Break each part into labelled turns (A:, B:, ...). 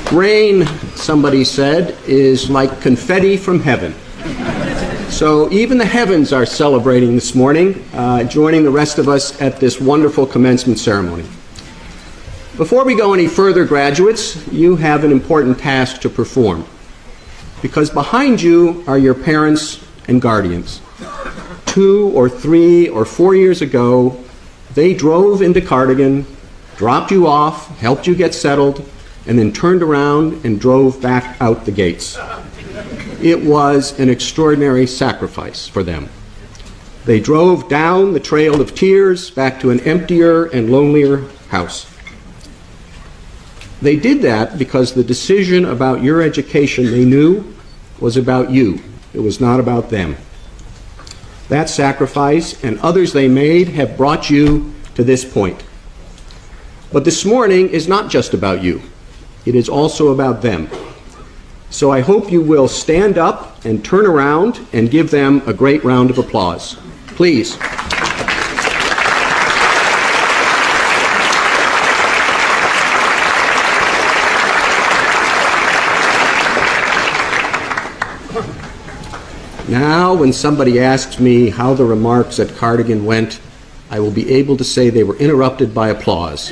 A: Rain, somebody said, is like confetti from heaven. So even the heavens are celebrating this morning, joining the rest of us at this wonderful commencement ceremony. Before we go any further, graduates, you have an important task to perform, because behind you are your parents and guardians. 2 or 3 or 4 years ago, they drove into Cardigan, dropped you off, helped you get settled, and then turned around and drove back out the gates. It was an extraordinary sacrifice for them. They drove down the trail of tears back to an emptier and lonelier house. They did that because the decision about your education, they knew, was about you. It was not about them. That sacrifice and others they made have brought you to this point. But this morning is not just about you. It is also about them. So I hope you will stand up and turn around and give them a great round of applause. Please. Now, when somebody asks me how the remarks at Cardigan went, I will be able to say they were interrupted by applause.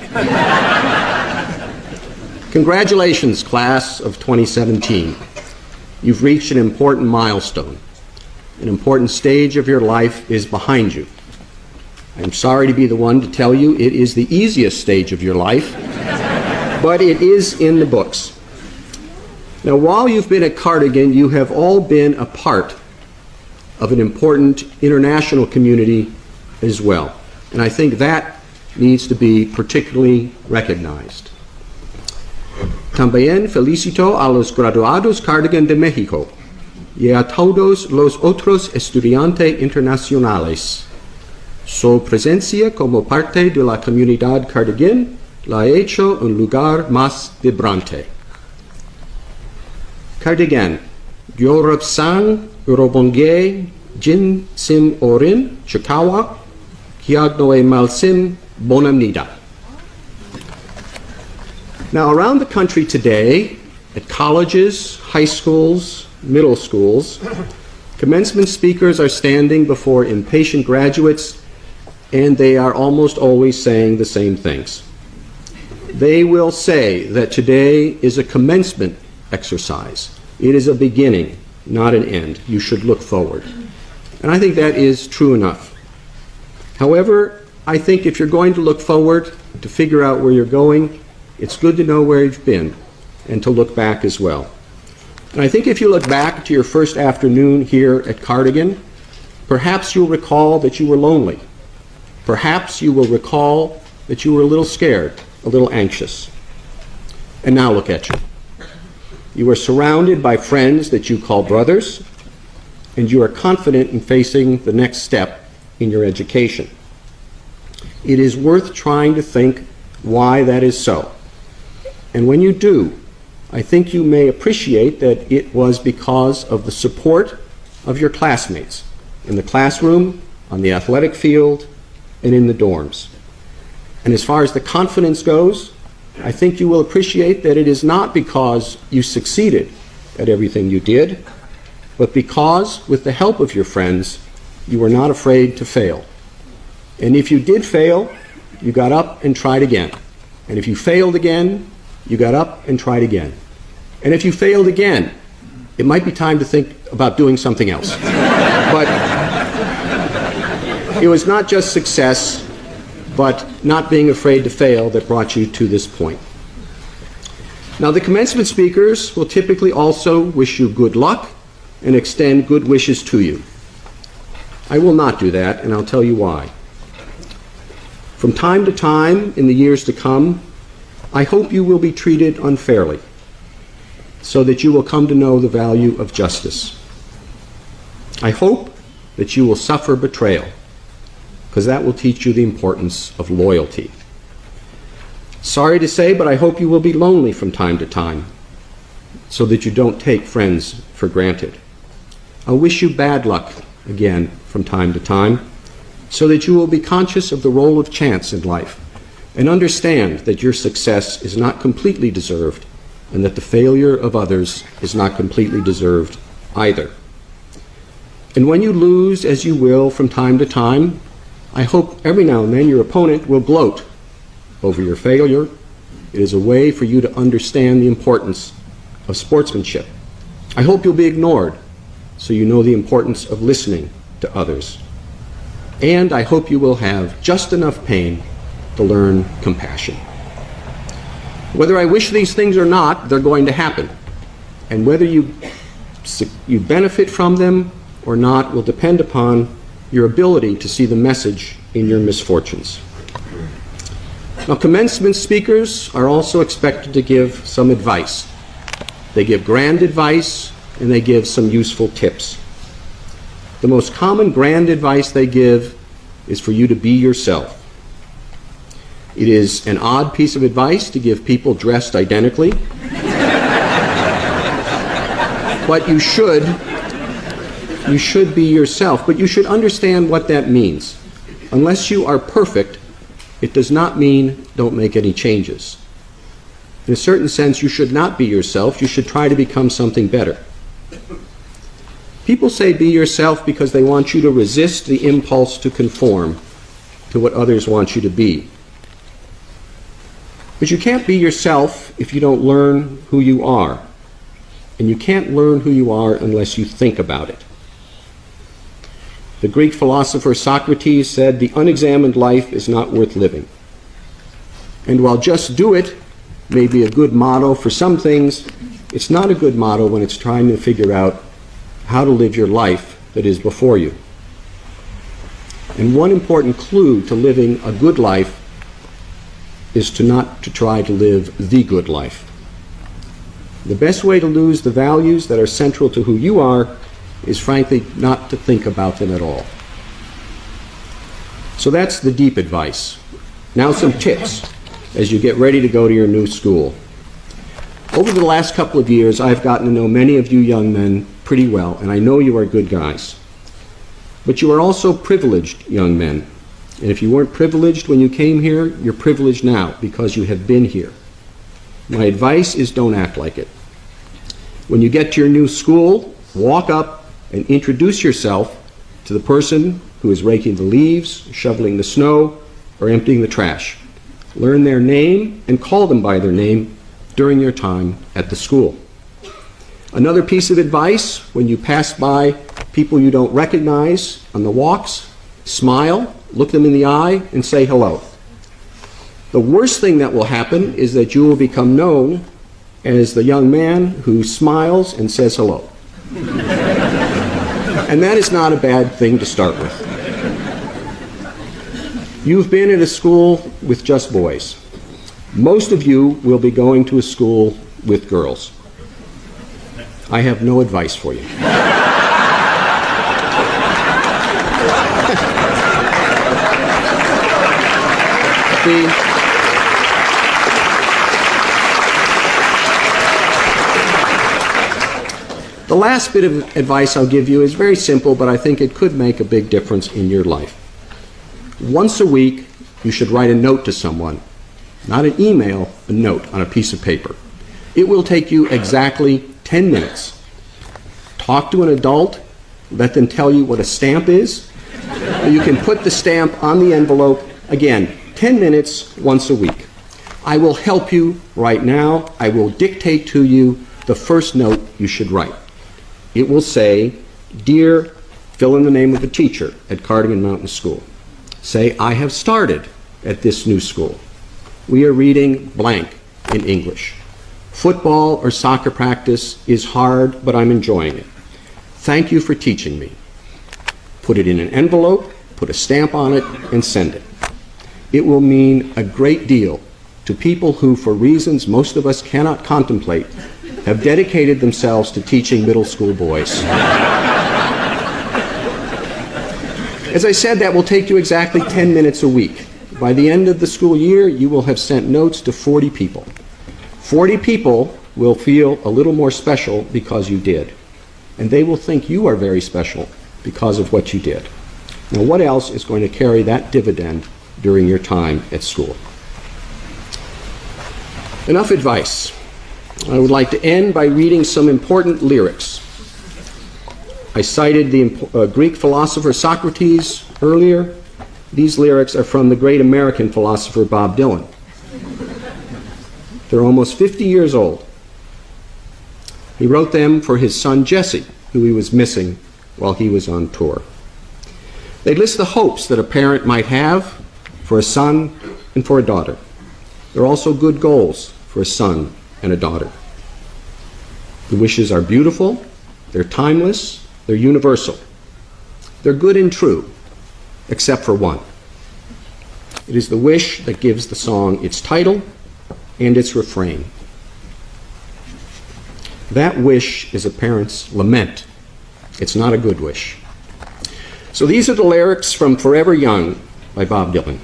A: Congratulations, class of 2017. You've reached an important milestone. An important stage of your life is behind you. I'm sorry to be the one to tell you it is the easiest stage of your life, but it is in the books. Now, while you've been at Cardigan, you have all been a part of an important international community as well. And I think that needs to be particularly recognized. También felicito a los graduados Cardigan de México y a todos los otros estudiantes internacionales. Su presencia como parte de la comunidad Cardigan la ha hecho un lugar más vibrante. Cardigan, Yorub-sang, Urobongye, Jin Sim Orin, Chikawa, Kiagnoe Malsim, Bonamnida. Now, around the country today, at colleges, high schools, middle schools, commencement speakers are standing before impatient graduates, and they are almost always saying the same things. They will say that today is a commencement exercise. It is a beginning, not an end. You should look forward. And I think that is true enough. However, I think if you're going to look forward, to figure out where you're going, it's good to know where you've been and to look back as well. And I think if you look back to your first afternoon here at Cardigan, perhaps you'll recall that you were lonely. Perhaps you will recall that you were a little scared, a little anxious. And now look at you. You are surrounded by friends that you call brothers, and you are confident in facing the next step in your education. It is worth trying to think why that is so. And when you do, I think you may appreciate that it was because of the support of your classmates in the classroom, on the athletic field, and in the dorms. And as far as the confidence goes, I think you will appreciate that it is not because you succeeded at everything you did, but because, with the help of your friends, you were not afraid to fail. And if you did fail, you got up and tried again. And if you failed again, you got up and tried again. And if you failed again, it might be time to think about doing something else. But it was not just success, but not being afraid to fail that brought you to this point. Now, the commencement speakers will typically also wish you good luck and extend good wishes to you. I will not do that, and I'll tell you why. From time to time in the years to come, I hope you will be treated unfairly so that you will come to know the value of justice. I hope that you will suffer betrayal, because that will teach you the importance of loyalty. Sorry to say, but I hope you will be lonely from time to time so that you don't take friends for granted. I wish you bad luck again from time to time so that you will be conscious of the role of chance in life and understand that your success is not completely deserved and that the failure of others is not completely deserved either. And when you lose, as you will from time to time, I hope every now and then your opponent will gloat over your failure. It is a way for you to understand the importance of sportsmanship. I hope you'll be ignored so you know the importance of listening to others. And I hope you will have just enough pain to learn compassion. Whether I wish these things or not, they're going to happen. And whether you benefit from them or not will depend upon your ability to see the message in your misfortunes. Now, commencement speakers are also expected to give some advice. They give grand advice and they give some useful tips. The most common grand advice they give is for you to be yourself. It is an odd piece of advice to give people dressed identically, but you should be yourself, but you should understand what that means. Unless you are perfect, it does not mean don't make any changes. In a certain sense, you should not be yourself. You should try to become something better. People say be yourself because they want you to resist the impulse to conform to what others want you to be. But you can't be yourself if you don't learn who you are. And you can't learn who you are unless you think about it. The Greek philosopher Socrates said, "The unexamined life is not worth living." And while "just do it" may be a good motto for some things, it's not a good motto when it's trying to figure out how to live your life that is before you. And one important clue to living a good life is to not to try to live the good life. The best way to lose the values that are central to who you are is frankly not to think about them at all. So that's the deep advice. Now some tips as you get ready to go to your new school. Over the last couple of years, I've gotten to know many of you young men pretty well, and I know you are good guys. But you are also privileged young men. And if you weren't privileged when you came here, you're privileged now because you have been here. My advice is don't act like it. When you get to your new school, walk up and introduce yourself to the person who is raking the leaves, shoveling the snow, or emptying the trash. Learn their name and call them by their name during your time at the school. Another piece of advice, when you pass by people you don't recognize on the walks, smile, look them in the eye, and say hello. The worst thing that will happen is that you will become known as the young man who smiles and says hello. And that is not a bad thing to start with. You've been at a school with just boys. Most of you will be going to a school with girls. I have no advice for you. The last bit of advice I'll give you is very simple, but I think it could make a big difference in your life. Once a week, you should write a note to someone. Not an email, a note on a piece of paper. It will take you exactly 10 minutes. Talk to an adult, let them tell you what a stamp is. You can put the stamp on the envelope. Again, 10 minutes once a week. I will help you right now. I will dictate to you the first note you should write. It will say, "Dear," fill in the name of a teacher at Cardigan Mountain School. Say, "I have started at this new school. We are reading blank in English. Football or soccer practice is hard, but I'm enjoying it. Thank you for teaching me." Put it in an envelope, put a stamp on it, and send it. It will mean a great deal to people who, for reasons most of us cannot contemplate, have dedicated themselves to teaching middle school boys. As I said, that will take you exactly 10 minutes a week. By the end of the school year, you will have sent notes to 40 people. 40 people will feel a little more special because you did. And they will think you are very special because of what you did. Now, what else is going to carry that dividend during your time at school? Enough advice. I would like to end by reading some important lyrics. I cited the Greek philosopher Socrates earlier. These lyrics are from the great American philosopher Bob Dylan. They're almost 50 years old. He wrote them for his son Jesse, who he was missing while he was on tour. They list the hopes that a parent might have for a son and for a daughter. They're also good goals for a son and a daughter. The wishes are beautiful, they're timeless, they're universal. They're good and true, except for one. It is the wish that gives the song its title and its refrain. That wish is a parent's lament. It's not a good wish. So these are the lyrics from Forever Young by Bob Dylan.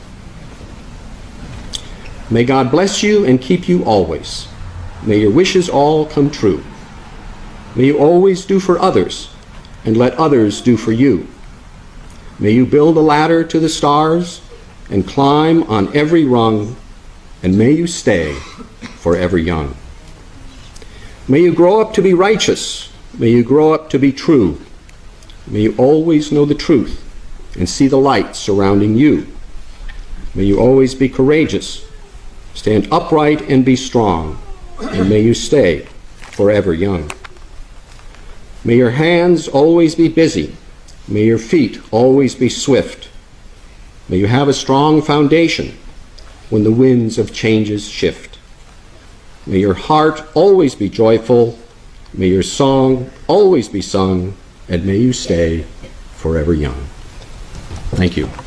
A: May God bless you and keep you always. May your wishes all come true. May you always do for others and let others do for you. May you build a ladder to the stars and climb on every rung, and may you stay forever young. May you grow up to be righteous. May you grow up to be true. May you always know the truth and see the light surrounding you. May you always be courageous, stand upright and be strong, and may you stay forever young. May your hands always be busy. May your feet always be swift. May you have a strong foundation when the winds of changes shift. May your heart always be joyful. May your song always be sung, and may you stay forever young. Thank you.